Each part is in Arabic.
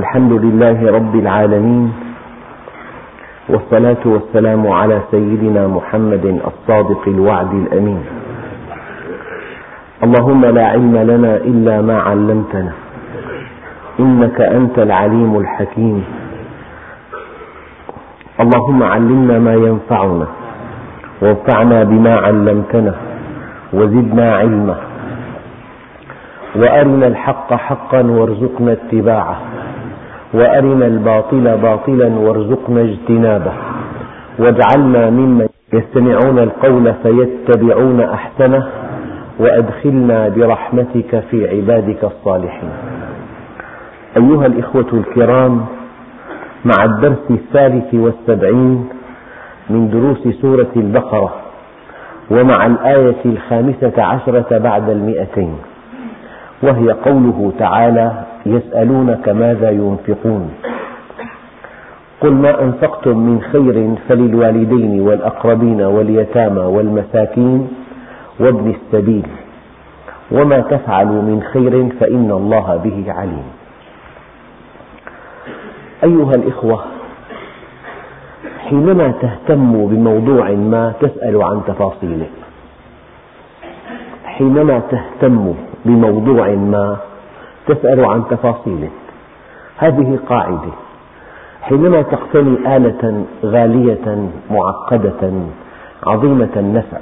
الحمد لله رب العالمين، والصلاة والسلام على سيدنا محمد الصادق الوعد الأمين. اللهم لا علم لنا إلا ما علمتنا، إنك أنت العليم الحكيم. اللهم علمنا ما ينفعنا، وانفعنا بما علمتنا، وزدنا علما، وأرنا الحق حقا وارزقنا اتباعه، وأرنا الباطل باطلا وارزقنا اجتنابه، واجعلنا ممن يستمعون القول فيتبعون أحسنه، وأدخلنا برحمتك في عبادك الصالحين. أيها الإخوة الكرام، مع الدرس 73 من دروس سورة البقرة، ومع الآية 15 بعد 200، وهي قوله تعالى: يسألونك ماذا ينفقون، قل ما أنفقتم من خير فللوالدين والأقربين واليتامى والمساكين وابن السبيل، وما تفعلوا من خير فإن الله به عليم. أيها الإخوة، حينما تهتم بموضوع ما تسأل عن تفاصيله، حينما تهتم بموضوع ما تسأل عن تفاصيله. هذه قاعدة. حينما تقتني آلة غالية معقدة عظيمة النفع،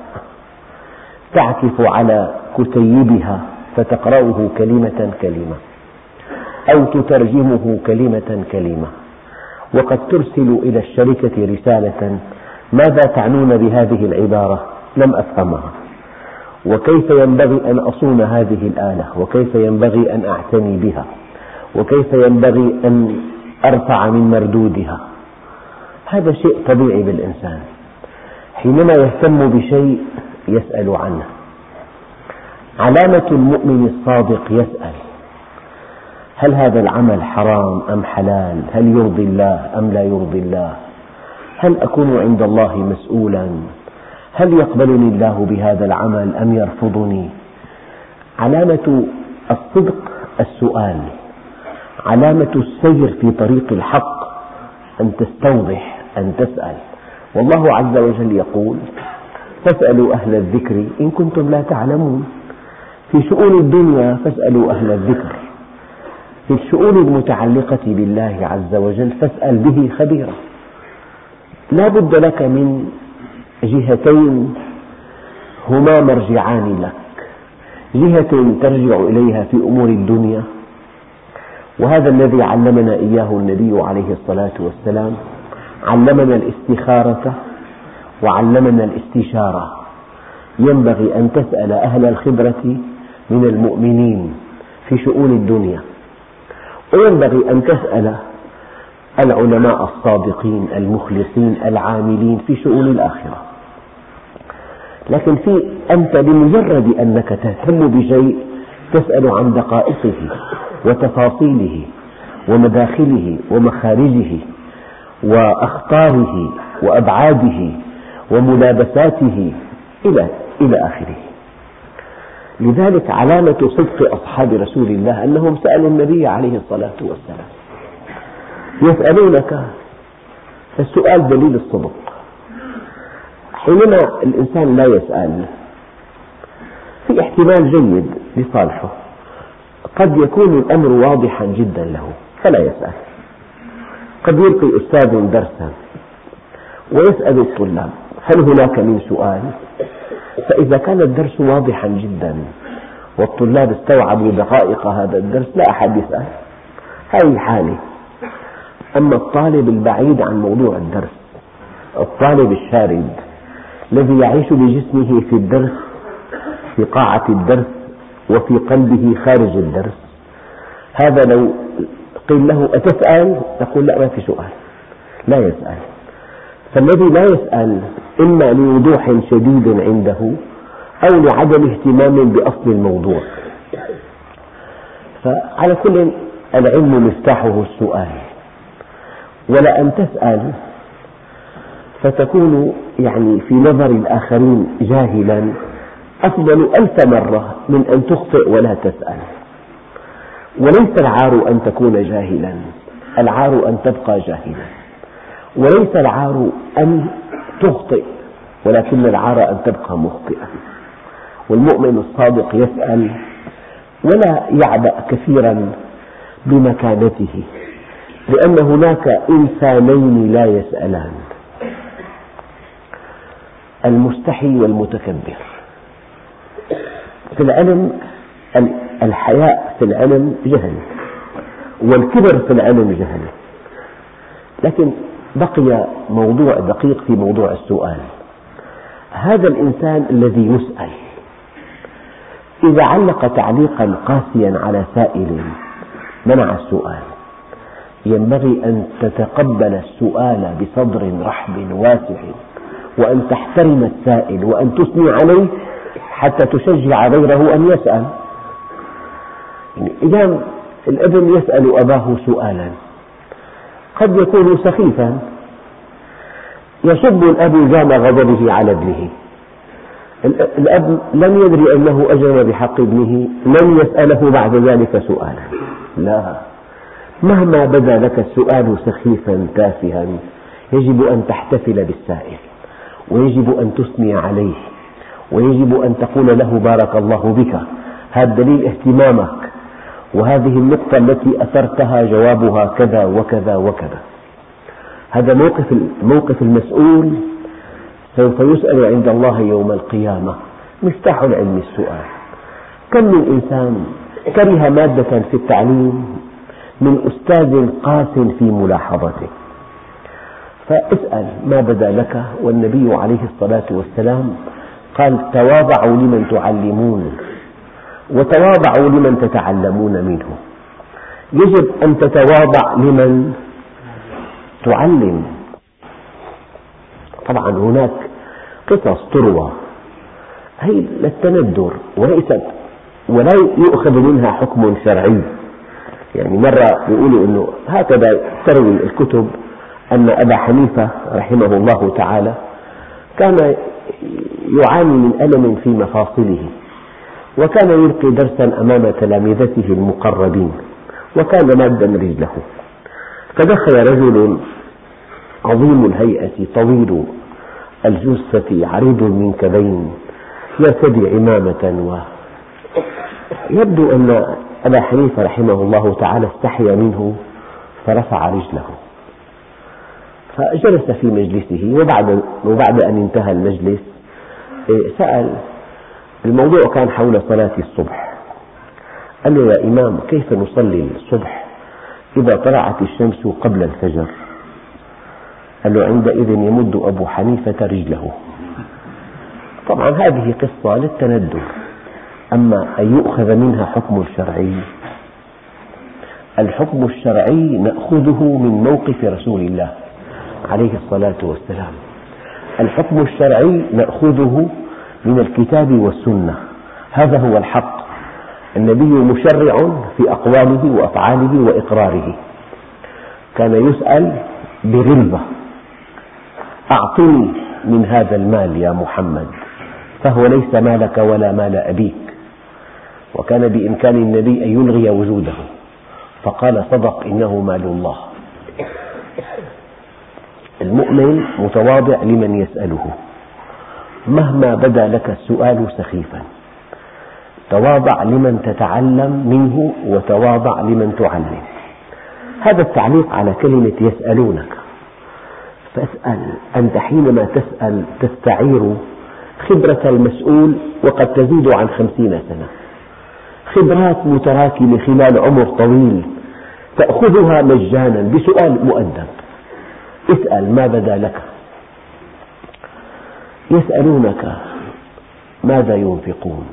تعكف على كتيبها فتقرأه كلمة كلمة، أو تترجمه كلمة كلمة، وقد ترسل إلى الشركة رسالة: ماذا تعنون بهذه العبارة؟ لم أفهمها، وكيف ينبغي أن أصون هذه الآلة، وكيف ينبغي أن أعتني بها، وكيف ينبغي أن أرفع من مردودها. هذا شيء طبيعي بالإنسان. حينما يهتم بشيء يسأل عنه. علامة المؤمن الصادق يسأل: هل هذا العمل حرام أم حلال؟ هل يرضي الله أم لا يرضي الله؟ هل أكون عند الله مسؤولا؟ هل يقبلني الله بهذا العمل أم يرفضني؟ علامة الصدق السؤال. علامة السير في طريق الحق أن تستوضح، أن تسأل. والله عز وجل يقول: فاسألوا أهل الذكر إن كنتم لا تعلمون. في شؤون الدنيا فاسألوا أهل الذكر، في الشؤون المتعلقة بالله عز وجل فاسأل به خبيرا. لا بد لك من جهتين هما مرجعان لك: جهة ترجع إليها في أمور الدنيا، وهذا الذي علمنا إياه النبي عليه الصلاة والسلام. علمنا الاستخارة وعلمنا الاستشارة. ينبغي أن تسأل أهل الخبرة من المؤمنين في شؤون الدنيا، وينبغي أن تسأل العلماء الصادقين المخلصين العاملين في شؤون الآخرة. لكن أنت بمجرد أنك تهتم بشيء تسأل عن دقائقه وتفاصيله ومداخله ومخارجه وأخطاره وأبعاده وملابساته إلى آخره. لذلك علامة صدق أصحاب رسول الله أنهم سألوا النبي عليه الصلاة والسلام. يسألونك، فالسؤال دليل الصدق. حينما الإنسان لا يسأل في احتمال جيد لصالحه، قد يكون الأمر واضحا جدا له فلا يسأل. قد يلقي أستاذ درسا ويسأل الطلاب: هل هناك من سؤال؟ فإذا كان الدرس واضحا جدا والطلاب استوعبوا دقائق هذا الدرس لا أحد يسأل. هذه حالة. أما الطالب البعيد عن موضوع الدرس، الطالب الشارد الذي يعيش بجسمه في الدرس، في قاعة الدرس، وفي قلبه خارج الدرس، هذا لو قيل له: أتسأل؟ يقول: لا، ما في سؤال. لا يسأل. فالذي لا يسأل إما لوضوح شديد عنده أو لعدم اهتمام بأصل الموضوع. فعلى كل، العلم مفتاحه السؤال. ولأن تسأل فتكون في نظر الآخرين جاهلا أفضل 1000 مرة من أن تخطئ ولا تسأل. وليس العار أن تكون جاهلا، العار أن تبقى جاهلا، وليس العار أن تخطئ، ولكن العار أن تبقى مخطئا. والمؤمن الصادق يسأل ولا يعبأ كثيرا بمكانته، لأن هناك إنسانين لا يسألان: المستحي والمتكبر. في العلم الحياء في العلم جهل، والكبر في العلم جهل، لكن بقي موضوع دقيق في موضوع السؤال. هذا الإنسان الذي يسأل إذا علق تعليقا قاسيا على سائل منع السؤال، ينبغي أن تتقبل السؤال بصدر رحب واسع، وأن تحترم السائل وأن تثني عليه حتى تشجع غيره أن يسأل. إذا الابن يسأل أباه سؤالا قد يكون سخيفا، يصب الأب جام غضبه على ابنه، الأب لم يدري أنه أجرم بحق ابنه، لم يسأله بعد ذلك سؤالا. لا، مهما بدا لك السؤال سخيفا تافها يجب أن تحتفل بالسائل، ويجب أن تثني عليه، ويجب أن تقول له بارك الله بك، هذا دليل اهتمامك، وهذه النقطة التي أثرتها جوابها كذا وكذا وكذا. هذا موقف المسؤول سوف يسأل عند الله يوم القيامة. مفتاح العلم السؤال. كم من إنسان كره مادة في التعليم من أستاذ قاس في ملاحظته، فاسأل ما بدا لك. والنبي عليه الصلاة والسلام قال: تواضعوا لمن تعلمون وتواضعوا لمن تتعلمون منه. يجب أن تتواضع لمن تعلم. طبعا هناك قصص تروى هي للتندر ولا يؤخذ منها حكم شرعي. يعني مرة يقولوا أنه هكذا تروي الكتب أن أبا حنيفة رحمه الله تعالى كان يعاني من ألم في مفاصله، وكان يلقي درسا أمام تلامذته المقربين، وكان مادا رجله، فدخل رجل عظيم الهيئة طويل الجثة عريض المنكبين يرتدي عمامة، ويبدو أن أبا حنيفة رحمه الله تعالى استحيا منه فرفع رجله، فجلس في مجلسه. وبعد أن انتهى المجلس سأل، الموضوع كان حول صلاة الصبح، قال له: يا إمام، كيف نصلي الصبح إذا طلعت الشمس قبل الفجر؟ قال له: عندئذ يمد أبو حنيفة رجله. طبعا هذه قصة للتندر، أما أن يؤخذ منها حكم شرعي، الحكم الشرعي نأخذه من موقف رسول الله عليه الصلاة والسلام. الحكم الشرعي نأخذه من الكتاب والسنة، هذا هو الحق. النبي مشرع في أقواله وأفعاله وإقراره. كان يسأل بغلظة: أعطني من هذا المال يا محمد، فهو ليس مالك ولا مال أبيك. وكان بإمكان النبي أن يلغي وجوده، فقال: صدق، إنه مال الله. المؤمن متواضع لمن يسأله، مهما بدا لك السؤال سخيفا، تواضع لمن تتعلم منه وتواضع لمن تعلم. هذا التعليق على كلمة يسألونك. فاسأل. أنت حينما تسأل تستعير خبرة المسؤول، وقد تزيد عن 50 سنة، خبرات متراكمة خلال عمر طويل تأخذها مجانا بسؤال مؤدب. اسأل ما بدا لك. يسألونك ماذا ينفقون.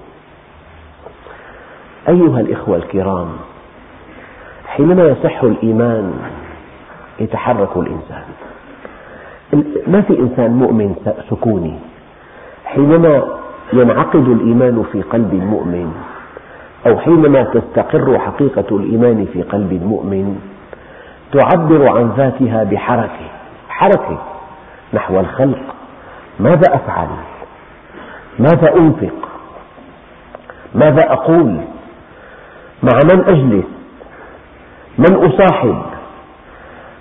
أيها الإخوة الكرام، حينما يصح الإيمان يتحرك الإنسان. ما في إنسان مؤمن سكوني. حينما ينعقد الإيمان في قلب المؤمن، أو حينما تستقر حقيقة الإيمان في قلب المؤمن، تعبر عن ذاتها بحركة نحو الخلق. ماذا أفعل؟ ماذا أنفق؟ ماذا أقول؟ مع من أجلس؟ من أصاحب؟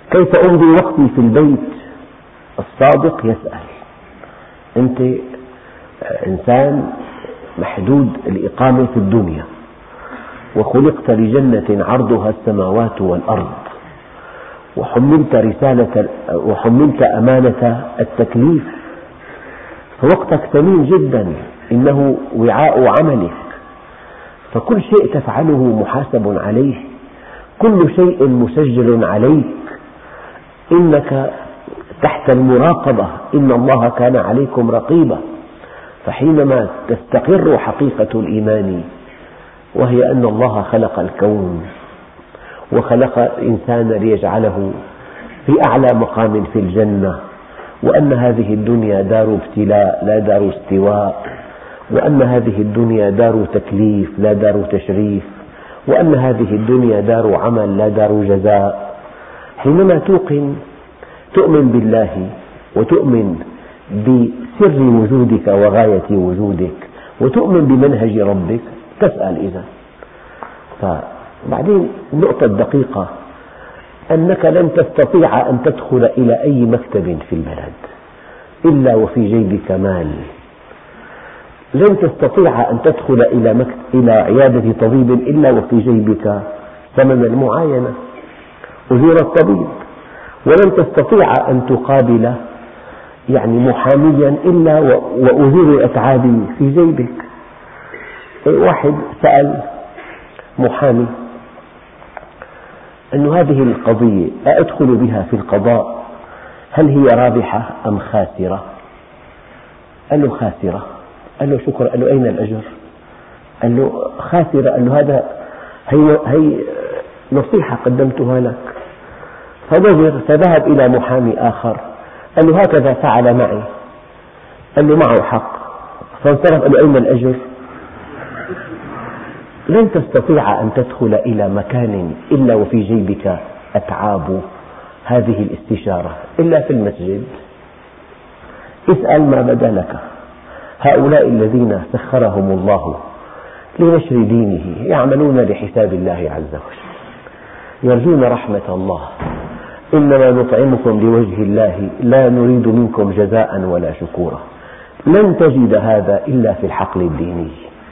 كيف أمضي وقتي في البيت؟ الصادق يسأل. أنت إنسان محدود الإقامة في الدنيا، وخلقت لجنة عرضها السماوات والأرض، وحملت أمانة التكليف، فوقتك ثمين جدا، إنه وعاء عملك، فكل شيء تفعله محاسب عليه، كل شيء مسجل عليك، إنك تحت المراقبة، إن الله كان عليكم رقيبا. فحينما تستقر حقيقة الإيمان، وهي أن الله خلق الكون وخلق الإنسان ليجعله في أعلى مقام في الجنة، وأن هذه الدنيا دار ابتلاء لا دار استواء، وأن هذه الدنيا دار تكليف لا دار تشريف، وأن هذه الدنيا دار عمل لا دار جزاء. حينما تؤمن بالله وتؤمن بسر وجودك وغاية وجودك وتؤمن بمنهج ربك، تسأل إذا. فبعدين النقطة الدقيقة أنك لن تستطيع أن تدخل إلى أي مكتب في البلد إلا وفي جيبك مال، لن تستطيع أن تدخل إلى عيادة طبيب إلا وفي جيبك ثمن المعاينة، أجور الطبيب، ولن تستطيع أن تقابل محاميا إلا وأجور الأتعاب في جيبك. واحد سأل محامي أن هذه القضية أدخل بها في القضاء، هل هي رابحة أم خاسرة؟ قال له خاسرة. قال له شكرا. قال له أين الأجر؟ قال له خاسرة. قال له هي نصيحة قدمتها لك. فنظر فذهب إلى محامي آخر قال له هكذا فعل معي. قال له معه حق. فانصرف. قال له أين الأجر؟ لن تستطيع أن تدخل إلى مكان إلا وفي جيبك أتعاب هذه الاستشارة إلا في المسجد. اسأل ما بدا لك. هؤلاء الذين سخرهم الله لنشر دينه يعملون لحساب الله عز وجل، يرجون رحمة الله. إنما نطعمكم لوجه الله لا نريد منكم جزاء ولا شكورا. لن تجد هذا إلا في الحقل الديني.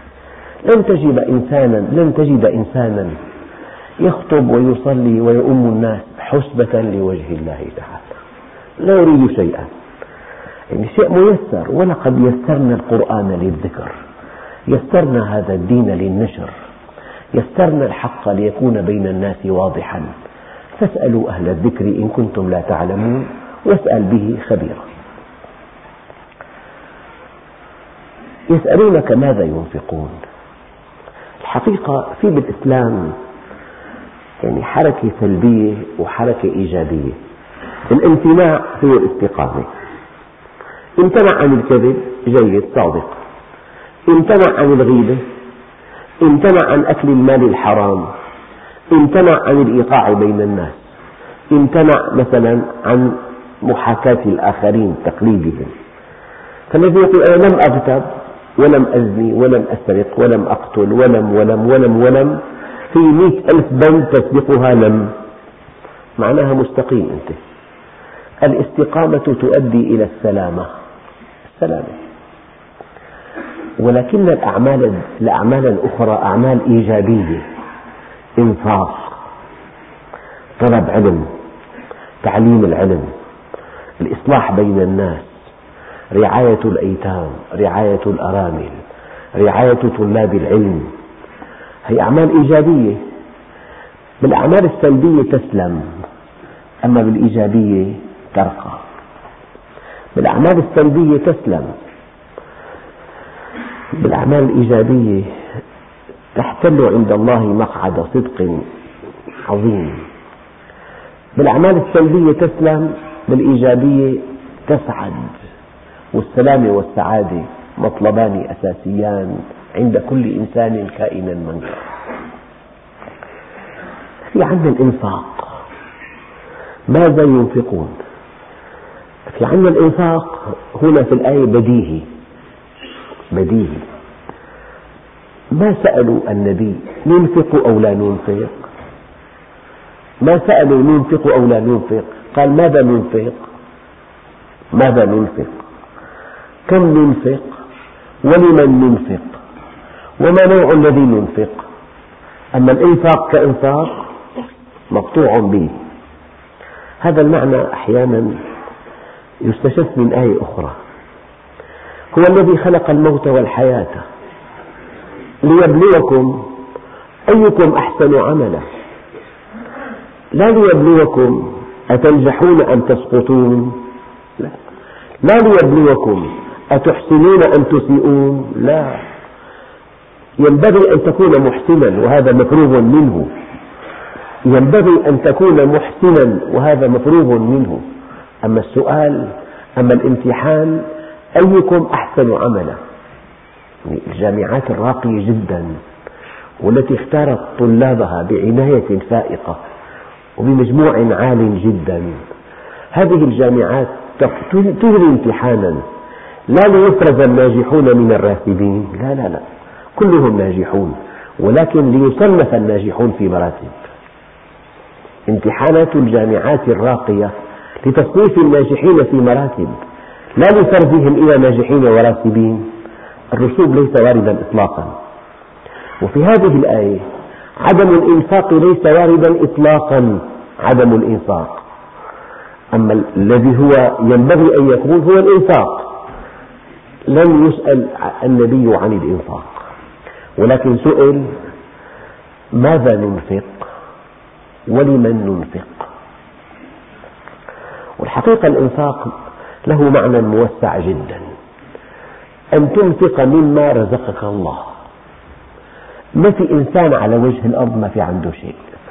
لن تجد إنسانا يخطب ويصلي ويؤم الناس حسبة لوجه الله تعالى، لا يريد شيئا، شيء ميسر. ولقد يسرنا القرآن للذكر، يسرنا هذا الدين للنشر، يسرنا الحق ليكون بين الناس واضحا. فاسألوا أهل الذكر إن كنتم لا تعلمون واسأل به خبيرا. يسألونك ماذا ينفقون. الحقيقة في بالإسلام حركة سلبية وحركة إيجابية. الامتناع هو الاستقامة. امتنع عن الكذب، جيد، صادق. امتنع عن الغيبة، امتنع عن أكل المال الحرام، امتنع عن الإيقاع بين الناس، امتنع مثلا عن محاكاة الآخرين، تقليدهم. فالذي يقول أنا لم أغتب ولم أزني ولم أسرق ولم أقتل ولم في 100,000 بند تسبقها لم، معناها مستقيم أنت. الاستقامة تؤدي إلى السلامة، ولكن الأعمال الأخرى أعمال إيجابية، إنفاق، طلب علم، تعليم العلم، الإصلاح بين الناس، رعاية الأيتام، رعاية الأرامل، رعاية طلاب العلم، هي أعمال إيجابية. بالأعمال السلبية تسلم، أما بالإيجابية ترقى. بالأعمال السلبية تسلم، بالأعمال الإيجابية تحتل عند الله مقعد صدق عظيم. بالأعمال السلبية تسلم، بالإيجابية تسعد. والسلام والسعادة مطلبان أساسيان عند كل إنسان كائنا من كان. في عندنا الإنفاق، ماذا ينفقون؟ في عندنا الإنفاق هنا في الآية بديهي. ما سألوا النبي ننفق أو لا ننفق، ما سألوا ننفق أو لا ننفق، قال ماذا ننفق؟ ماذا ننفق؟ كم ننفق؟ ولمن ننفق؟ وما نوع الذي ننفق؟ أما الإنفاق كإنفاق مقطوع به. هذا المعنى أحيانا يستشف من آية أخرى: هو الذي خلق الموت والحياة ليبلوكم أيكم أحسن عملا، لا ليبلوكم أتنجحون أم تسقطون، لا ليبلوكم أتحسنون أم تسيئون، لا، ينبغي أن تكون محسنا وهذا مفروغ منه، ينبغي أن تكون محسنا وهذا مفروغ منه. أما السؤال، أما الامتحان أيكم أحسن عملا. الجامعات الراقية جدا والتي اختارت طلابها بعناية فائقة وبمجموع عال جدا، هذه الجامعات تجري امتحانا لا ليفرز الناجحون من الراسبين، لا لا لا، كلهم ناجحون، ولكن ليصنف الناجحون في مراتب. امتحانات الجامعات الراقية لتصنيف الناجحين في مراتب، لا لفرزهم إلى ناجحين وراسبين. الرسوب ليس واردا إطلاقا. وفي هذه الآية عدم الإنفاق ليس واردا إطلاقا، عدم الإنفاق. أما الذي هو ينبغي أن يكون هو الإنفاق. لم يسأل النبي عن الإنفاق، ولكن سئل ماذا ننفق ولمن ننفق. والحقيقة الإنفاق له معنى موسع جدا، أن تنفق مما رزقك الله. ما في إنسان على وجه الأرض ما في عنده شيء.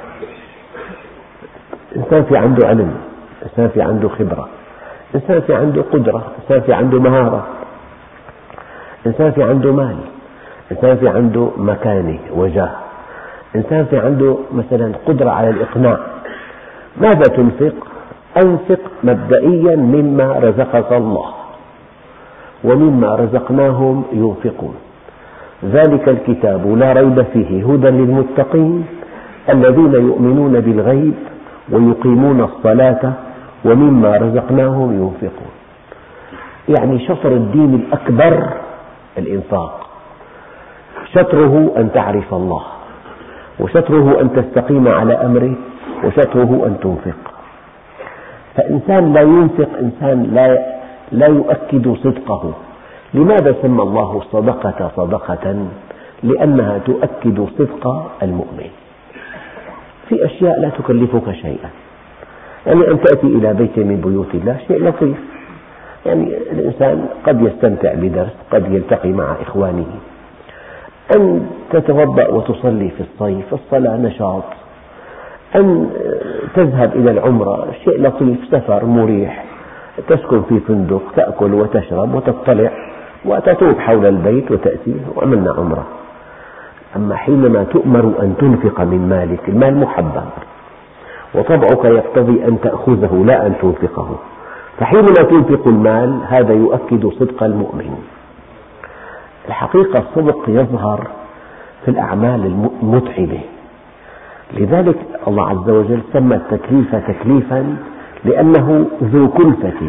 إنسان في عنده علم، إنسان في عنده خبرة، إنسان في عنده قدرة، إنسان في عنده مهارة، إنسان في عنده مال، إنسان في عنده مكانة وجاه، إنسان في عنده مثلا قدرة على الإقناع. ماذا تنفق؟ أنفق مبدئيا مما رزقك الله، ومما رزقناهم ينفقون. ذلك الكتاب لا ريب فيه هدى للمتقين الذين يؤمنون بالغيب ويقيمون الصلاة ومما رزقناهم ينفقون. يعني شطر الدين الأكبر الإنفاق، شطره أن تعرف الله، وشطره أن تستقيم على أمره، وشطره أن تنفق. فإنسان لا ينفق إنسان لا يؤكد صدقه. لماذا سمى الله الصدقة صدقة؟ لأنها تؤكد صدق المؤمن. في أشياء لا تكلفك شيئا، يعني أن تأتي إلى بيت من بيوت الله شيء لطيف، يعني الإنسان قد يستمتع بدرس، قد يلتقي مع إخوانه. أن تتوضأ وتصلي في الصيف، الصلاة نشاط. أن تذهب إلى العمرة شيء لطيف، سفر مريح، تسكن في فندق، تأكل وتشرب وتطلع وتطوف حول البيت وتأتي وعملنا عمرة. أما حينما تؤمر أن تنفق من مالك، المال محبب وطبعك يقتضي أن تأخذه لا أن تنفقه، فحينما تنفق المال هذا يؤكد صدق المؤمن. الحقيقة الصدق يظهر في الأعمال المتعبة، لذلك الله عز وجل سمى التكليف تكليفا لأنه ذو كلفة.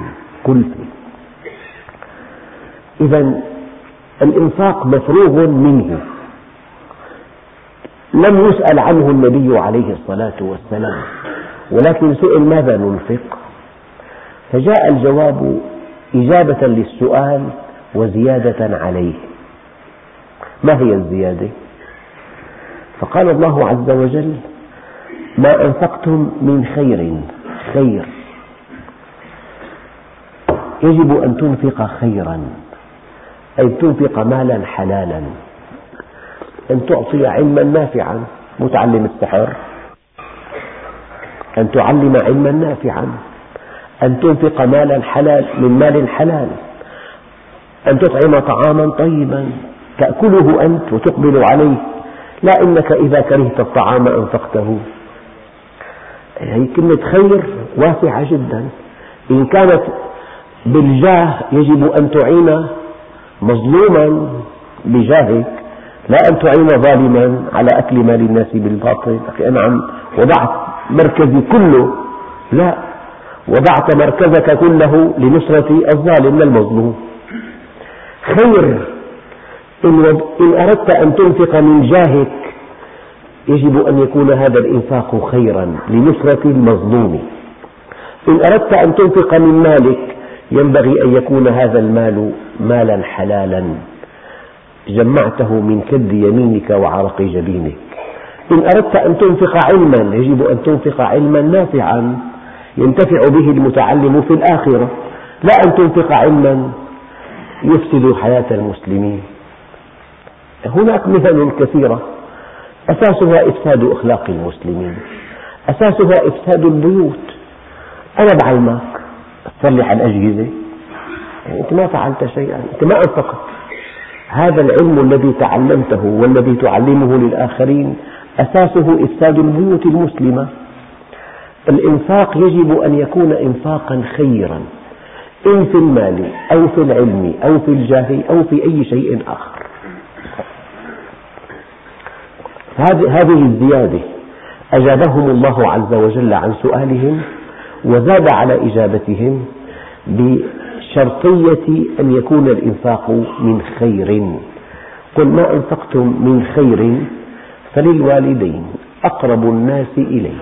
إذن الإنفاق مفروغ منه، لم يسأل عنه النبي عليه الصلاة والسلام، ولكن سئل ماذا ننفق، فجاء الجواب إجابة للسؤال وزيادة عليه. ما هي الزيادة؟ فقال الله عز وجل ما أنفقتم من خير يجب أن تنفق خيرا، أي تنفق مالا حلالا. أن تعطي علما نافعا، متعلم السحر، أن تعلم علما نافعا، أن تنفق مالا حلال من مال حلال، أن تطعم طعاما طيبا تأكله أنت وتقبل عليه، لا إنك إذا كرهت الطعام أنفقته. هي كلمة خير واسعة جدا. إن كانت بالجاه يجب أن تعين مظلوما بجاهك، لا أن تعين ظالما على أكل مال الناس بالباطل. أخي أنعم، وضعت مركزي كله، لا، وضعت مركزك كله لنصرة الظالم المظلوم. خير، إن أردت أن تنفق من جاهك يجب أن يكون هذا الإنفاق خيرا لنصرة المظلوم. إن أردت أن تنفق من مالك ينبغي أن يكون هذا المال مالا حلالا جمعته من كد يمينك وعرق جبينك. إن أردت أن تنفق علما يجب أن تنفق علما نافعا ينتفع به المتعلم في الآخرة، لا أن تنفق علما يفسد حياة المسلمين. هناك مثل كثيرة أساسها إفساد أخلاق المسلمين، أساسها إفساد البيوت. أنا بعلمك تصلح الأجهزة، يعني أنت ما فعلت شيئا، أنت ما أنفقت. هذا العلم الذي تعلمته والذي تعلمه للآخرين أساسه إفساد البيوت المسلمة. الإنفاق يجب أن يكون إنفاقا خيرا، إن في المال أو في العلم أو في الجاه أو في أي شيء آخر. هذه الزيادة أجابهم الله عز وجل عن سؤالهم وزاد على إجابتهم بشرطية أن يكون الإنفاق من خير. قل ما أنفقتم من خير فللوالدين أقرب الناس إليك.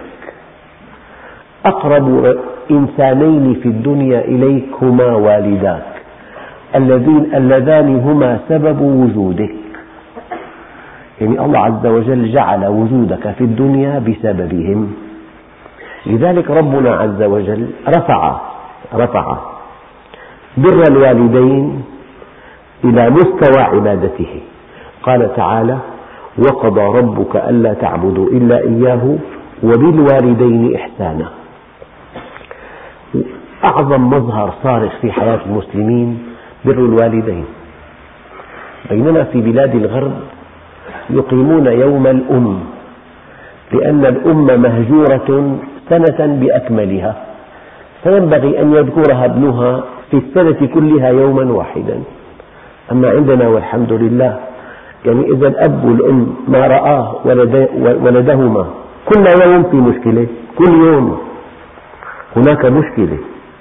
أقرب إنسانين في الدنيا إليك هما والداك اللذان هما سبب وجودك. يعني الله عز وجل جعل وجودك في الدنيا بسببهم. لذلك ربنا عز وجل رفع بر الوالدين إلى مستوى عبادته. قال تعالى: وقضى ربك ألا تعبدوا إلا إياه وبالوالدين إحسانا. أعظم مظهر صارخ في حياة المسلمين بر الوالدين، بينما في بلاد الغرب يقيمون يوم الأم، لأن الأم مهجورة سنة بأكملها، فينبغي أن يذكرها ابنها في السنة كلها يوما واحدا. أما عندنا والحمد لله، يعني إذا الأب والأم ما رآه ولدهما كل يوم في مشكلة، كل يوم هناك مشكلة.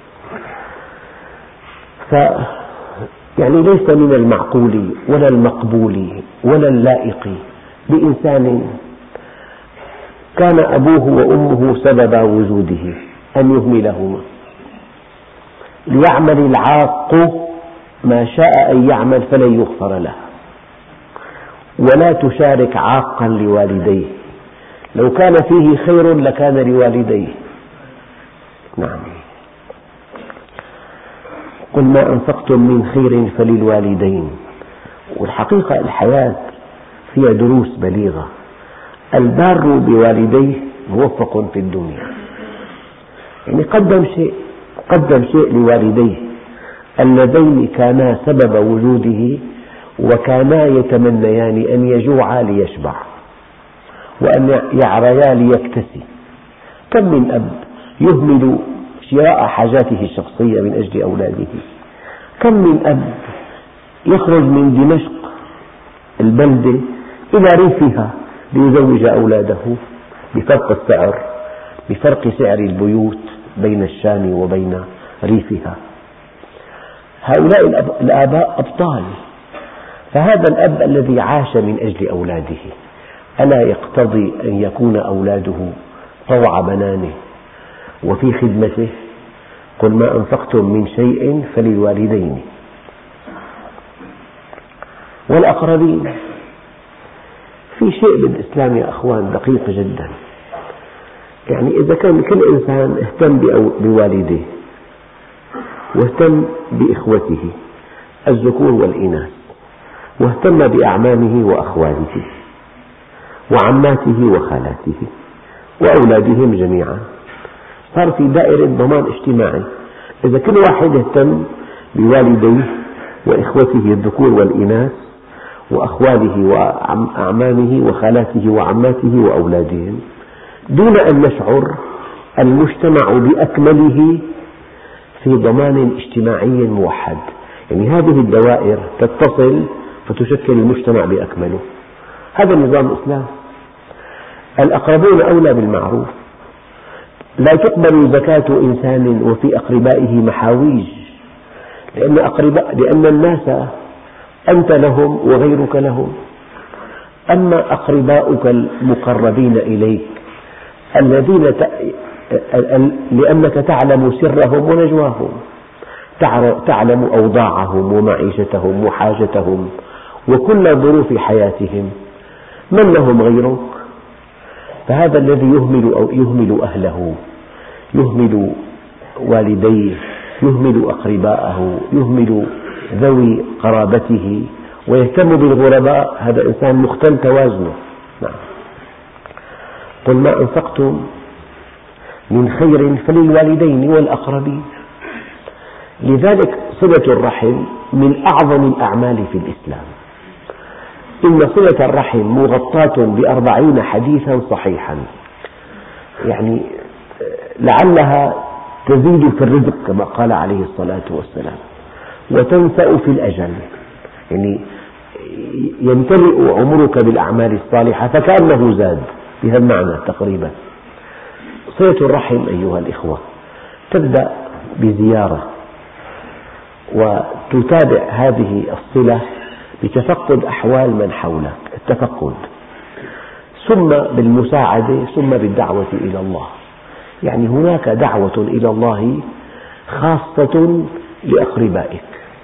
يعني ليس من المعقول ولا المقبول ولا اللائق بإنسان كان أبوه وأمه سبب وجوده أن يهملهما. ليعمل العاق ما شاء أن يعمل فلن يغفر له، ولا تشارك عاقا لوالديه، لو كان فيه خير لكان لوالديه. نعم. قل ما أنفقتم من خير فللوالدين. والحقيقة الحياة فيها دروس بليغة. البار بوالديه موفق في الدنيا، يعني قدم شيء لوالديه اللذين كانا سبب وجوده وكانا يتمنيان أن يجوعا ليشبع وأن يعريا ليكتسي. كم من أب يهمل شراء حاجاته الشخصية من أجل أولاده. كم من أب يخرج من دمشق البلدة إلى ريفها ليزوج أولاده بفرق السعر، بفرق سعر البيوت بين الشام وبين ريفها. هؤلاء الآباء أبطال. فهذا الأب الذي عاش من أجل أولاده ألا يقتضي أن يكون أولاده طوع بنانه وفي خدمته؟ قل ما أنفقتم من شيء فللوالدين والأقربين. في شيء بالإسلام يا أخوان دقيق جدا. يعني إذا كان كل إنسان اهتم بوالديه واهتم بإخوته الذكور والإناث واهتم بأعمامه وأخواله وعماته وخالاته وأولادهم جميعا، صار في دائرة ضمان اجتماعي. إذا كل واحد اهتم بوالديه وإخوته الذكور والإناث وأخواله وأعمامه وخالاته وعماته وأولادهم دون أن نشعر، المجتمع بأكمله في ضمان اجتماعي موحد. يعني هذه الدوائر تتصل فتشكل المجتمع بأكمله. هذا نظام الإسلام. الأقربون أولى بالمعروف. لا تقبل زكاة إنسان وفي أقربائه محاويج، لأن الناس أنت لهم وغيرك لهم. أما أقرباؤك المقربين إليك الذين لأنك تعلم سرهم ونجواهم، تعلم أوضاعهم ومعيشتهم وحاجتهم وكل ظروف حياتهم، من لهم غيرك؟ فهذا الذي يهمل أهله، يهمل والديه، يهمل أقرباءه، يهمل ذوي قرابته ويهتم بالغرباء، هذا إنسان مختل توازنه. نعم. قل ما أنفقتم من خير فللوالدين والأقربين. لذلك صلة الرحم من أعظم الأعمال في الإسلام. إن صلة الرحم مغطاة ب40 حديثا صحيحا، يعني لعلها تزيد في الرزق كما قال عليه الصلاة والسلام، وتنسأ في الأجل، يعني يمتلئ عمرك بالأعمال الصالحة فكأنه زاد، بهذا المعنى تقريبا. صلة الرحم أيها الإخوة تبدأ بزيارة، وتتابع هذه الصلة بتفقد أحوال من حولك، التفقد، ثم بالمساعدة، ثم بالدعوة إلى الله. يعني هناك دعوة إلى الله خاصة لأقربائك.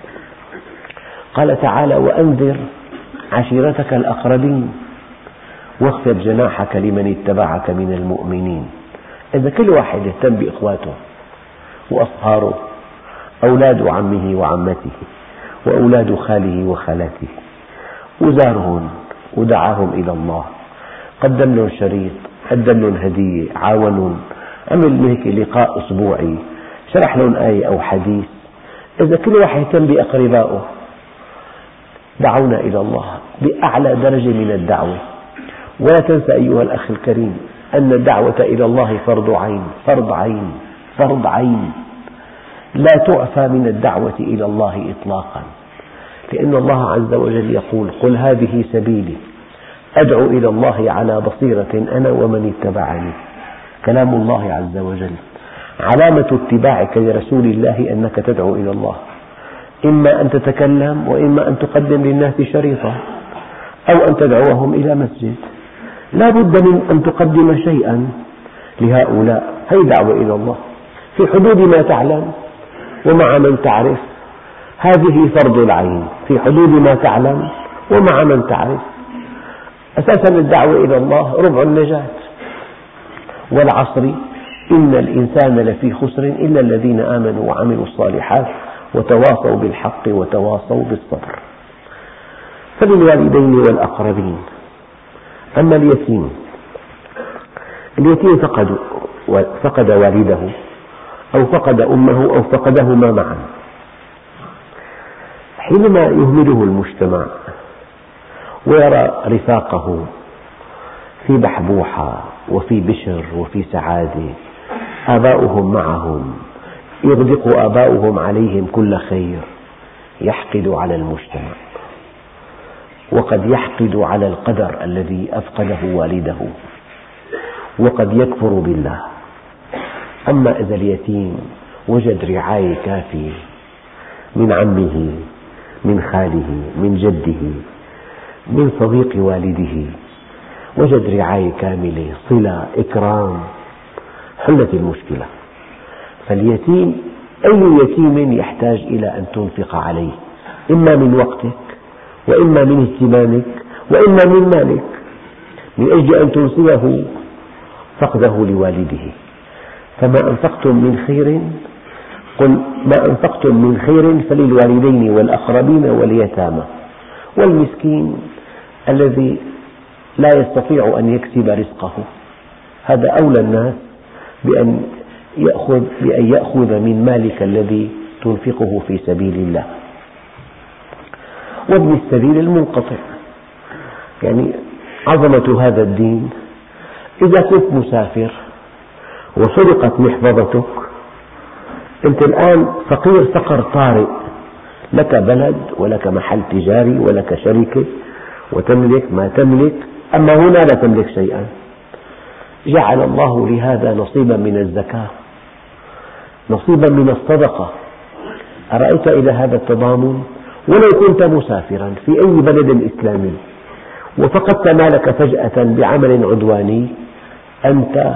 قال تعالى: وأنذر عشيرتك الأقربين واخفض جناحك لمن اتبعك من المؤمنين. إذا كل واحد يهتم بإخواته وأصهاره، أولاد عمه وعمته وأولاد خاله وخالاته، وزارهم ودعاهم إلى الله، قدم لهم شريط، قدم لهم هدية، عاونهم، عمل هيك لقاء أسبوعي، شرح لهم آية أو حديث. إذا كل واحد يهتم بأقربائه دعونا إلى الله بأعلى درجة من الدعوة. ولا تنسى أيها الأخ الكريم أن الدعوة إلى الله فرض عين، فرض عين، فرض عين، لا تعفى من الدعوة إلى الله إطلاقا، لأن الله عز وجل يقول: قل هذه سبيلي أدعو إلى الله على بصيرة أنا ومن اتبعني. كلام الله عز وجل. علامة اتباعك لرسول الله أنك تدعو إلى الله، إما أن تتكلم وإما أن تقدم للناس شريطا أو أن تدعوهم إلى مسجد. لا بد من أن تقدم شيئا لهؤلاء، هي دعوة إلى الله في حدود ما تعلم ومع من تعرف. هذه فرض العين في حدود ما تعلم ومع من تعرف. أساسا الدعوة إلى الله ربع النجاة. والعصر إن الإنسان لفي خسر إلا الذين آمنوا وعملوا الصالحات وتواصوا بالحق وتواصوا بالصبر. فللوالدين والأقربين. أما اليتيم فقد والده أو فقد أمه أو فقدهما معا، حينما يهمله المجتمع ويرى رفاقه في بحبوحة وفي بشر وفي سعادة، آباؤهم معهم، يغدق آباؤهم عليهم كل خير، يحقد على المجتمع، وقد يحقد على القدر الذي أفقده والده، وقد يكفر بالله. أما إذا اليتيم وجد رعاية كافية من عمه، من خاله، من جده، من صديق والده، وجد رعاية كاملة، صلة، إكرام، حلت المشكلة. فاليتيم أي يتيم يحتاج إلى أن تنفق عليه، إما من وقتك وإما من اهتمامك وإما من مالك، من أجل أن تنسيه فقده لوالده. فما أنفقتم من خير، قل ما أنفقتم من خير فللوالدين والأقربين واليتامى والمسكين الذي لا يستطيع أن يكسب رزقه. هذا أولى الناس بأن يأخذ من مالك الذي تنفقه في سبيل الله. وابن السبيل المنقطع، يعني عظمة هذا الدين. إذا كنت مسافر وسرقت محفظتك، أنت الآن فقير فقر طارئ، لك بلد ولك محل تجاري ولك شركة وتملك ما تملك، أما هنا لا تملك شيئا. جعل الله لهذا نصيبا من الزكاة، نصيبا من الصدقة. أرأيت إلى هذا التضامن؟ ولو كنت مسافرا في أي بلد إسلامي وفقدت مالك فجأة بعمل عدواني، أنت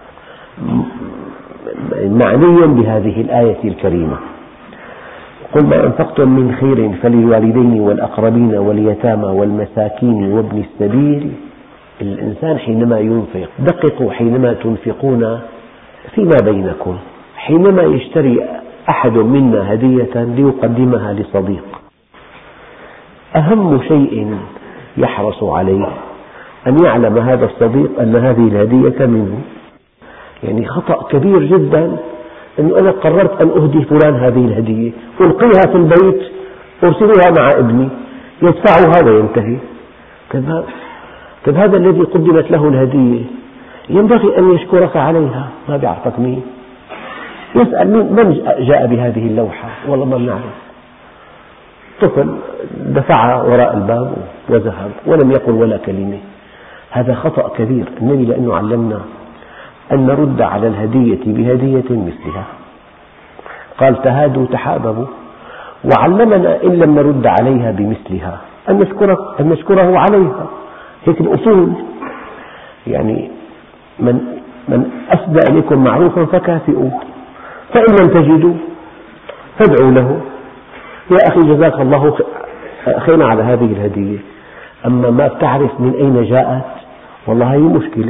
معني بهذه الآية الكريمة: قل ما أنفقتم من خير فللوالدين والأقربين واليتامى والمساكين وابن السبيل. الإنسان حينما ينفق، دققوا حينما تنفقون فيما بينكم. حينما يشتري أحد منا هدية ليقدمها لصديق، أهم شيء يحرص عليه أن يعلم هذا الصديق أن هذه الهدية منه. يعني خطأ كبير جدا أنه أنا قررت أن أهدي فلان هذه الهدية، ألقيها في البيت، أرسلها مع ابني يدفعها وينتهي. طيب هذا الذي قدمت له الهدية ينبغي أن يشكرك عليها، ما بيعرفك مين، يسأل من جاء بهذه اللوحة، والله ما بنعرف. طفل دفعها وراء الباب وذهب ولم يقل ولا كلمة. هذا خطأ كبير. النبي لأنه علمنا أن نرد على الهدية بهدية مثلها، قال تهادوا تحاببوا، وعلمنا إن لم نرد عليها بمثلها أن نشكره عليها. هيك الأصول. يعني من أسدى إليكم معروفا فكافئوه، فإن لم تجدوا فادعوا له: يا أخي جزاك الله خيرا على هذه الهدية، أما ما بتعرف من أين جاءت، والله هي مشكلة.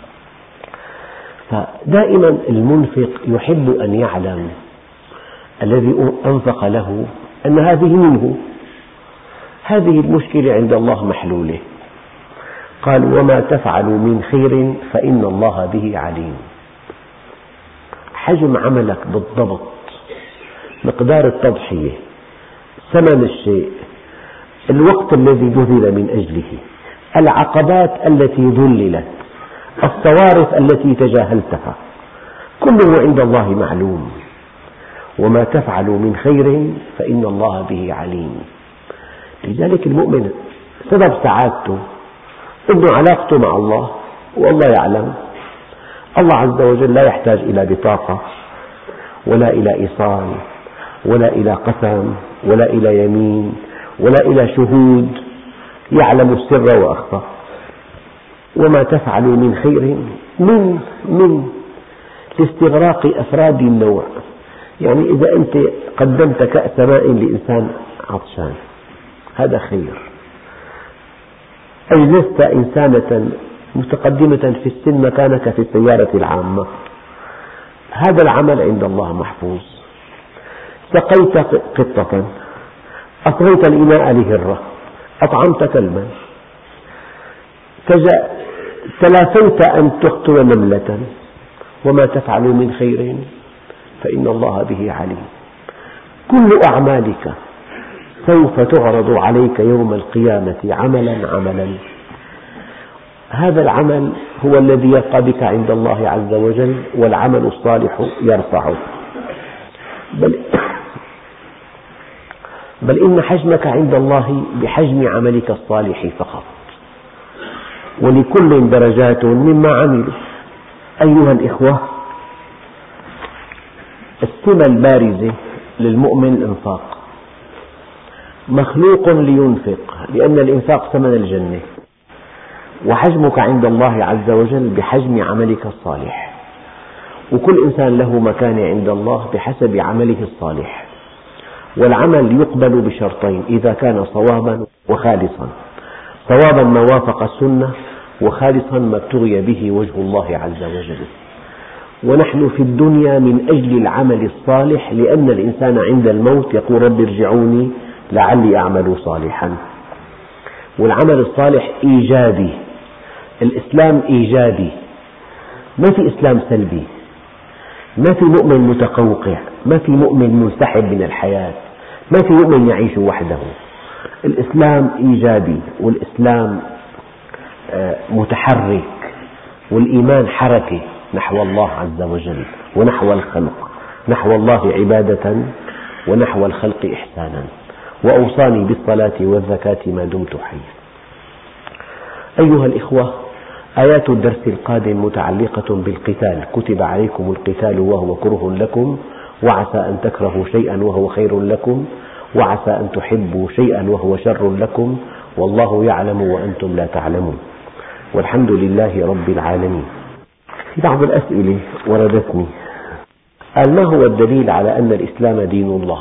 فدائما المنفق يحب أن يعلم الذي أنفق له أن هذه منه. هذه المشكلة عند الله محلولة. قال: وما تفعلوا من خير فإن الله به عليم. حجم عملك بالضبط، مقدار التضحية، ثمن الشيء، الوقت الذي بذل من أجله، العقبات التي ذللت، الصوارف التي تجاهلتها، كله عند الله معلوم. وما تفعلوا من خير فإن الله به عليم. لذلك المؤمن سبب سعادته إنه علاقته مع الله، والله يعلم. الله عز وجل لا يحتاج إلى بطاقة ولا إلى إيصال ولا إلى قسم ولا إلى يمين ولا إلى شهود، يعلم السر وأخفى. وما تفعلوا من خير من لاستغراق أفراد النوع. يعني إذا أنت قدمت كأس ماء لإنسان عطشان، هذا خير. أجلست إنسانة متقدمة في السن مكانك في السيارة العامة، هذا العمل عند الله محفوظ. سقيت قطة، أطغيت الإناء لهرة، أطعمت كلبا، تلافيت أن تقتل نملة. وما تفعلوا من خير فإن الله به عليم. كل أعمالك سوف تعرض عليك يوم القيامة عملا. هذا العمل هو الذي يبقى بك عند الله عز وجل، والعمل الصالح يرفعه. بل إن حجمك عند الله بحجم عملك الصالح فقط، ولكل درجات مما عملوا. أيها الإخوة، السمة البارزة للمؤمن الإنفاق. مخلوق لينفق، لأن الإنفاق ثمن الجنة، وحجمك عند الله عز وجل بحجم عملك الصالح. وكل إنسان له مكانة عند الله بحسب عمله الصالح. والعمل يقبل بشرطين: إذا كان صوابا وخالصا. صوابا ما وافق السنة، وخالصا ما ابتغي به وجه الله عز وجل. ونحن في الدنيا من أجل العمل الصالح، لأن الإنسان عند الموت يقول: رب ارجعوني لعلي أعمل صالحا. والعمل الصالح إيجابي. الإسلام إيجابي، ما في إسلام سلبي، ما في مؤمن متقوقع، ما في مؤمن منسحب من الحياة، ما في مؤمن يعيش وحده. الإسلام إيجابي، والإسلام متحرك، والإيمان حركة نحو الله عز وجل ونحو الخلق، نحو الله عبادة ونحو الخلق إحسانا. وأوصاني بالصلاة والزكاة ما دمت حيا. أيها الإخوة، آيات الدرس القادم متعلقة بالقتال. كتب عليكم القتال وهو كره لكم وعسى أن تكرهوا شيئا وهو خير لكم وعسى أن تحبوا شيئا وهو شر لكم والله يعلم وأنتم لا تعلمون، والحمد لله رب العالمين. في بعض الأسئلة وردتني، قال: ما هو الدليل على أن الإسلام دين الله؟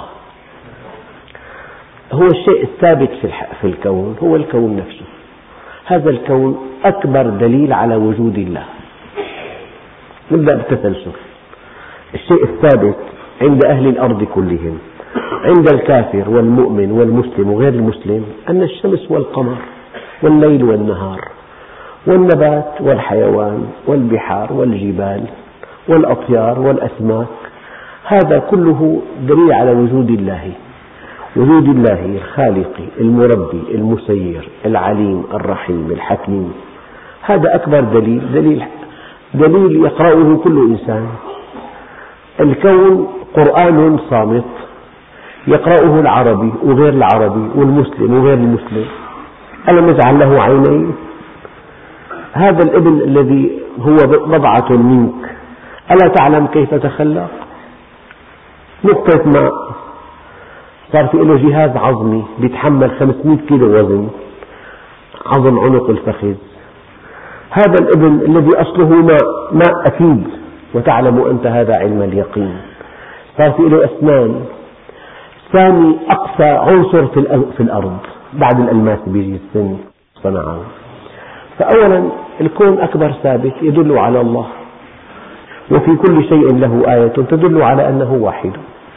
هو الشيء الثابت في الكون هو الكون نفسه. هذا الكون أكبر دليل على وجود الله. نبدأ بالتسلسل. الشيء الثابت عند أهل الأرض كلهم، عند الكافر والمؤمن والمسلم وغير المسلم، أن الشمس والقمر والليل والنهار والنبات والحيوان والبحار والجبال والأطيار والأسماك، هذا كله دليل على وجود الله، وجود الله الخالق المربي المسير العليم الرحيم الحكيم. هذا أكبر دليل يقرأه كل إنسان. الكون قرآن صامت يقرأه العربي وغير العربي والمسلم وغير المسلم. ألم نجعل له عينين؟ هذا الابن الذي هو بضعة منك ألا تعلم كيف تخلق؟ نقطة ماء صار في له جهاز عظمي بيتحمل 500 كيلو وزن، عظم عنق الفخذ. هذا الابن الذي أصله ماء أكيد، وتعلم أنت هذا علم اليقين. صار في له أسنان، ثاني أقصى عنصر في الأرض بعد الألماس بيجي السن صنعه. فأولا الكون أكبر ثابت يدل على الله، وفي كل شيء له آية تدل على أنه واحد.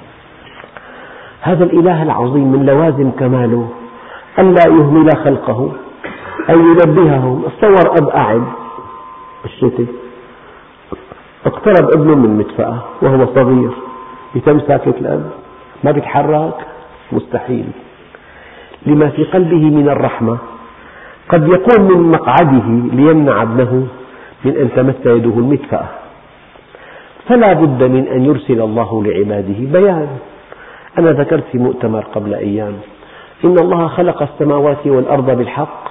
هذا الإله العظيم من لوازم كماله ألا يهمل خلقه، أن ينبههم. تصور أب قاعد بالشتاء، اقترب ابنه من مدفأة وهو صغير، يتم ساكت الأب ما بيتحرك؟ مستحيل. لما في قلبه من الرحمة قد يقوم من مقعده ليمنع ابنه من أن تمس يده المدفأة. فلا بد من أن يرسل الله لعباده بيان. أنا ذكرت في مؤتمر قبل أيام إن الله خلق السماوات والأرض بالحق،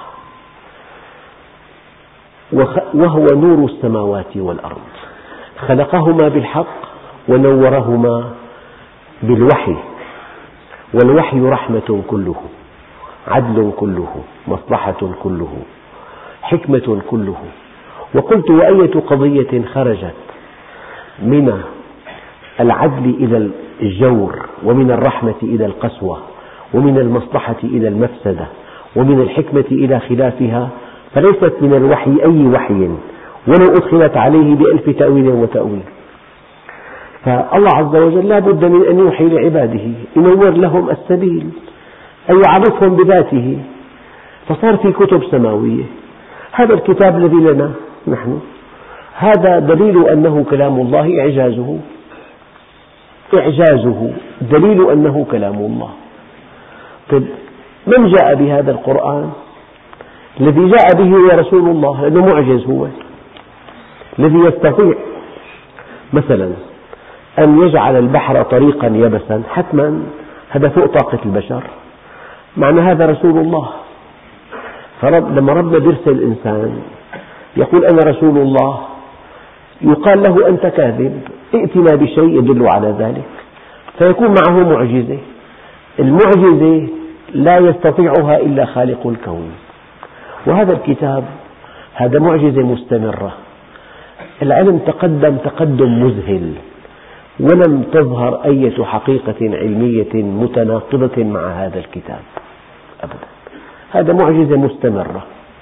وهو نور السماوات والأرض، خلقهما بالحق ونورهما بالوحي، والوحي رحمة كله، عدل كله، مصلحة كله، حكمة كله. وقلت: وأية قضية خرجت من العدل إلى الجور، ومن الرحمة إلى القسوة، ومن المصلحة إلى المفسدة، ومن الحكمة إلى خلافها، فليست من الوحي أي وحي ولو أدخلت عليه بألف تأويل وتأويل. فالله عز وجل لا بد من أن يوحي لعباده، ينور لهم السبيل، أن يعرفهم بذاته. فصار في كتب سماوية. هذا الكتاب الذي لنا نحن، هذا دليل أنه كلام الله، إعجازه دليل أنه كلام الله. طيب من جاء بهذا القرآن؟ الذي جاء به هو رسول الله، لأنه معجز. هو الذي يستطيع مثلا أن يجعل البحر طريقا يبسا، حتما هذا فوق طاقة البشر، معنى هذا رسول الله. لما ربنا يرسل إنسان يقول أنا رسول الله، يقال له أنت كاذب، ائتنا بشيء يدل على ذلك، فيكون معه معجزة. المعجزة لا يستطيعها إلا خالق الكون. وهذا الكتاب هذا معجزة مستمرة. العلم تقدم مذهل، ولم تظهر أي حقيقة علمية متناقضة مع هذا الكتاب أبدا. هذا معجزة مستمرة.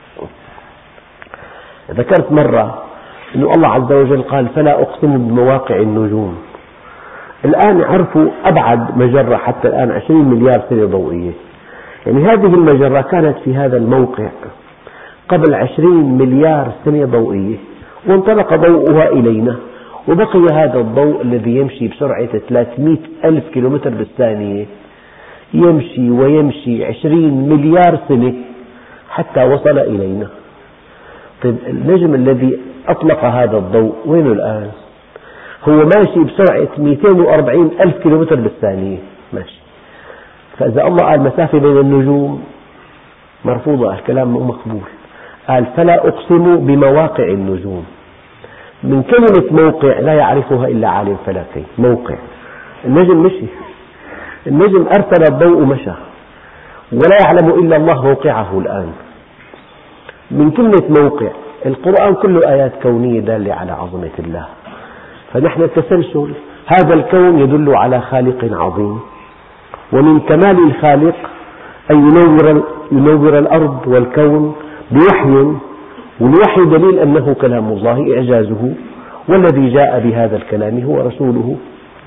ذكرت مرة أن الله عز وجل قال: فلا أقسم بمواقع النجوم. الآن عرفوا أبعد مجرة حتى الآن 20 مليار سنة ضوئية. يعني هذه المجرة كانت في هذا الموقع قبل 20 مليار سنة ضوئية، وانطلق ضوءها إلينا، وبقي هذا الضوء الذي يمشي بسرعة 300 ألف كيلومتر بالثانية يمشي ويمشي 20 مليار سنة حتى وصل إلينا. طيب النجم الذي أطلق هذا الضوء وينه الآن؟ هو ماشي بسرعة 240 ألف كيلومتر بالثانية ماشي. فإذا الله قال مسافة بين النجوم مرفوضة، الكلام مو مقبول. قال فلا أقسم بمواقع النجوم. من كلمة موقع لا يعرفها إلا عالم فلكي. موقع، النجم مشي، النجم أرسل الضوء مشى، ولا يعلم إلا الله موقعه الآن. من كلمة موقع، القرآن كله آيات كونية دالة على عظمة الله. فنحن التسلسل، هذا الكون يدل على خالق عظيم، ومن كمال الخالق أن ينور الأرض والكون بوحي، والوحي دليل أنه كلام الله إعجازه، والذي جاء بهذا الكلام هو رسوله.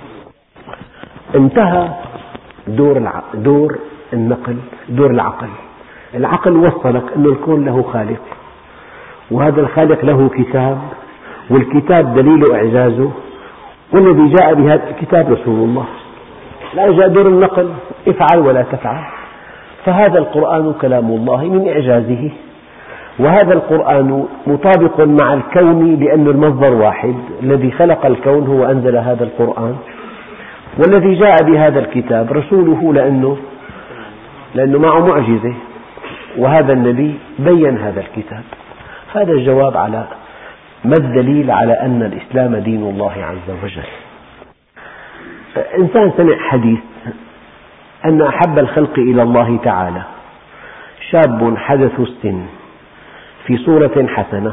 انتهى دور النقل، دور العقل. العقل وصلك أن الكون له خالق، وهذا الخالق له كتاب، والكتاب دليل إعجازه، والذي جاء بهذا الكتاب رسول الله. لا جاء دور النقل، افعل ولا تفعل. فهذا القرآن كلام الله من إعجازه، وهذا القرآن مطابق مع الكون لأن المصدر واحد، الذي خلق الكون هو أنزل هذا القرآن، والذي جاء بهذا الكتاب رسوله لأنه معه معجزة، وهذا النبي بين هذا الكتاب. هذا الجواب على ما الدليل على أن الإسلام دين الله عز وجل. إنسان سمع حديث أن أحب الخلق إلى الله تعالى شاب حدث السن في صورة حسنة.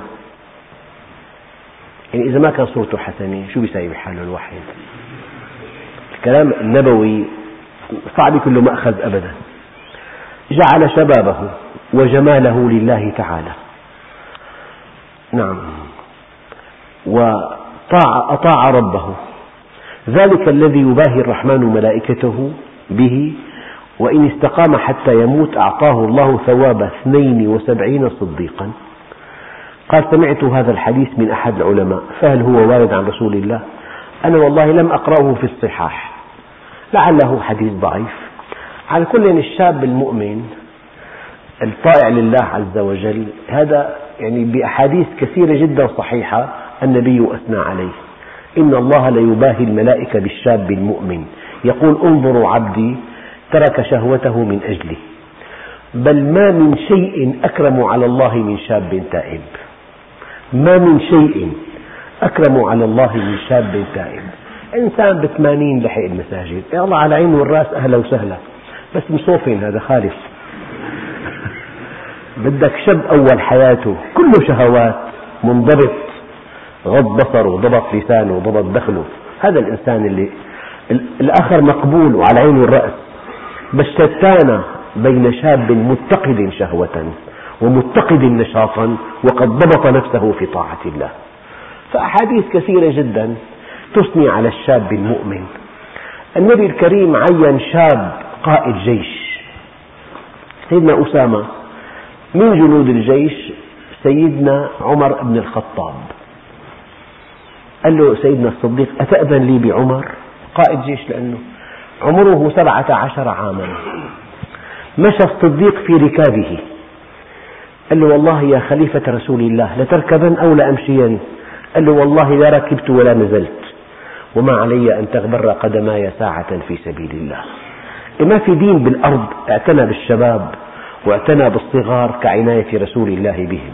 يعني إذا ما كان صورته حسنة شو بيساوي بحاله الواحد؟ الكلام النبوي صعب كله مأخذ أبدا. جعل شبابه وجماله لله تعالى، نعم، وأطاع ربه، ذلك الذي يباهي الرحمن ملائكته به، وإن استقام حتى يموت أعطاه الله ثواب 72 صديقا. قال سمعت هذا الحديث من أحد العلماء، فهل هو وارد عن رسول الله؟ أنا والله لم أقرأه في الصحاح، لعله حديث ضعيف. على كل الشاب المؤمن الطائع لله عز وجل هذا يعني بأحاديث كثيرة جدا صحيحة النبي أثنى عليه. إن الله ليباهي الملائكة بالشاب المؤمن، يقول انظروا عبدي ترك شهوته من أجلي. بل ما من شيء أكرم على الله من شاب تائب، ما من شيء أكرم على الله من شاب تائب. إنسان ب80 لحق المساجد، يا الله على عين والرأس، أهلا وسهلا، بس مصوفين هذا خالف. بدك شاب أول حياته كله شهوات، منضبط، غض بصره وضبط لسانه وضبط دخله، هذا الإنسان اللي الآخر مقبول وعلى عين والرأس. بس شتان بين شاب متقد شهوة ومتقد نشاطا وقد ضبط نفسه في طاعة الله. فأحاديث كثيرة جدا تثني على الشاب المؤمن. النبي الكريم عين شاب قائد جيش، سيدنا أسامة، من جنود الجيش سيدنا عمر بن الخطاب. قال له سيدنا الصديق أتأذن لي بعمر؟ قائد جيش لأنه عمره 17 عاما. مشى الصديق في ركابه، قال له والله يا خليفة رسول الله لتركبن أو لأمشين؟ قال له والله لا ركبت ولا نزلت، وما علي أن تغبر قدماي ساعة في سبيل الله. ما في دين بالأرض اعتنى بالشباب واعتنى بالصغار كعناية رسول الله بهم.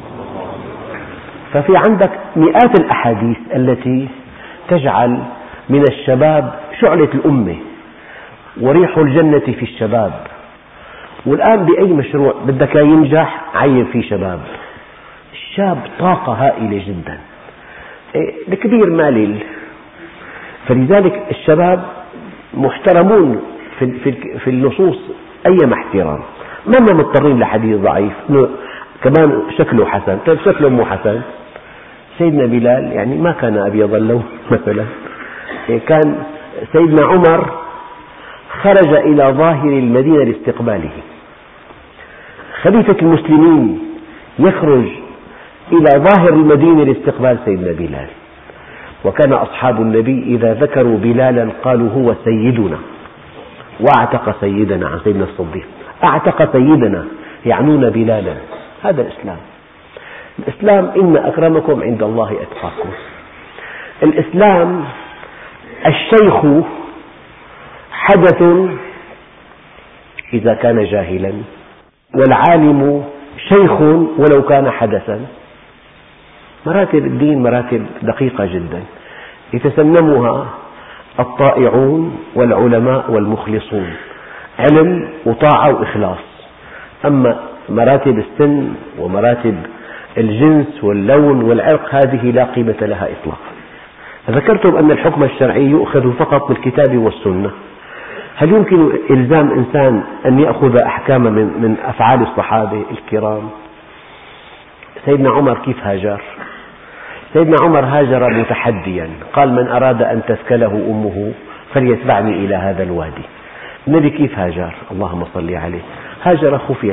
ففي عندك مئات الأحاديث التي تجعل من الشباب شعلة الأمة، وريح الجنة في الشباب. والآن بأي مشروع بدك ينجح عين فيه شباب. الشاب طاقة هائلة جدا، الكبير مالل. فلذلك الشباب محترمون في النصوص أيما احترام، ما مضطرين لحديث ضعيف كمان شكله حسن. طيب شكله مو حسن، سيدنا بلال يعني ما كان أبيض اللون مثلا، كان سيدنا عمر خرج إلى ظاهر المدينة لاستقباله. خليفة المسلمين يخرج إلى ظاهر المدينة لاستقبال سيدنا بلال. وكان أصحاب النبي إذا ذكروا بلالا قالوا هو سيدنا، واعتق سيدنا عن سيدنا الصديق، اعتق سيدنا، يعنون بلالا. هذا الإسلام. الإسلام إن أكرمكم عند الله أتقاكم. الإسلام الشيخ حدث إذا كان جاهلا، والعالم شيخ ولو كان حدثا. مراتب الدين مراتب دقيقة جدا يتسنمها الطائعون والعلماء والمخلصون، علم وطاعة وإخلاص. أما مراتب السن ومراتب الجنس واللون والعرق هذه لا قيمة لها إطلاقا. ذكرتم أن الحكم الشرعي يؤخذ فقط بالكتاب والسنة. هل يمكن إلزام إنسان أن يأخذ أحكاما من أفعال الصحابة الكرام؟ سيدنا عمر كيف هاجر؟ سيدنا عمر هاجر متحديا، قال من أراد أن تثكله أمه فليتبعني إلى هذا الوادي. النبي كيف هاجر؟ اللهم صل عليه، هاجر خفية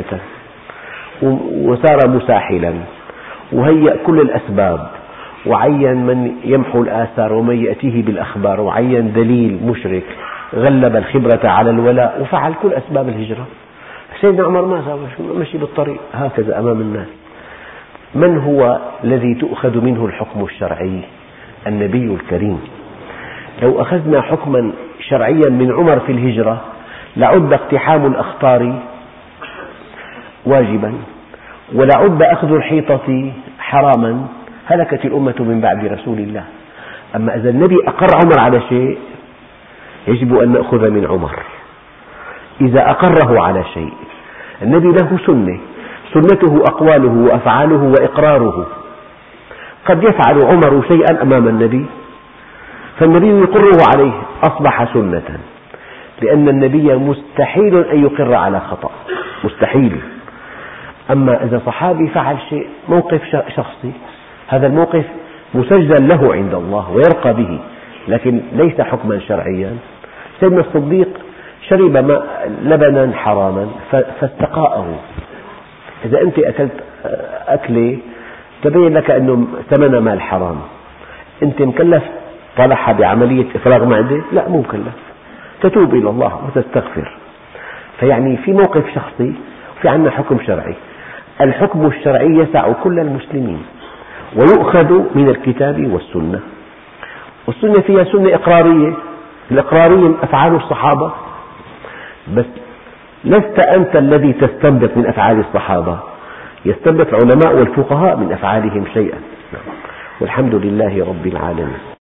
وسار مساحلا وهيأ كل الأسباب، وعين من يمحو الآثار ومن يأتيه بالأخبار، وعين دليل مشرك، غلب الخبرة على الولاء، وفعل كل أسباب الهجرة. سيدنا عمر ما سوى، مشي بالطريق هكذا أمام الناس. من هو الذي تؤخذ منه الحكم الشرعي؟ النبي الكريم. لو أخذنا حكما شرعيا من عمر في الهجرة لعد اقتحام الأخطار واجبا، ولعد أخذ الحيطة حراما، هلكت الأمة من بعد رسول الله. أما إذا النبي أقر عمر على شيء يجب أن نأخذ من عمر. إذا أقره على شيء، النبي له سنة، سنته أقواله وأفعاله وإقراره. قد يفعل عمر شيئا أمام النبي فالنبي يقره عليه، أصبح سنة، لأن النبي مستحيل أن يقر على خطأ، مستحيل. أما إذا صحابي فعل شيء موقف شخصي، هذا الموقف مسجل له عند الله ويرقى به، لكن ليس حكما شرعيا. سيدنا الصديق شرب لبنا حراما فاستقاءه. إذا أنت أكلت أكلة تبين لك أنه ثمن مال حرام، أنت مكلف طلعها بعملية إفراغ معدة؟ لا، مو مكلف، تتوب إلى الله وتستغفر. فيعني في موقف شخصي وفي عندنا حكم شرعي. الحكم الشرعي يسع كل المسلمين ويؤخذ من الكتاب والسنة. والسنة فيها سنة إقرارية، الإقرارية أفعال الصحابة، بس لست أنت الذي تستنبط من أفعال الصحابة، يستنبط العلماء والفقهاء من أفعالهم شيئا. والحمد لله رب العالمين.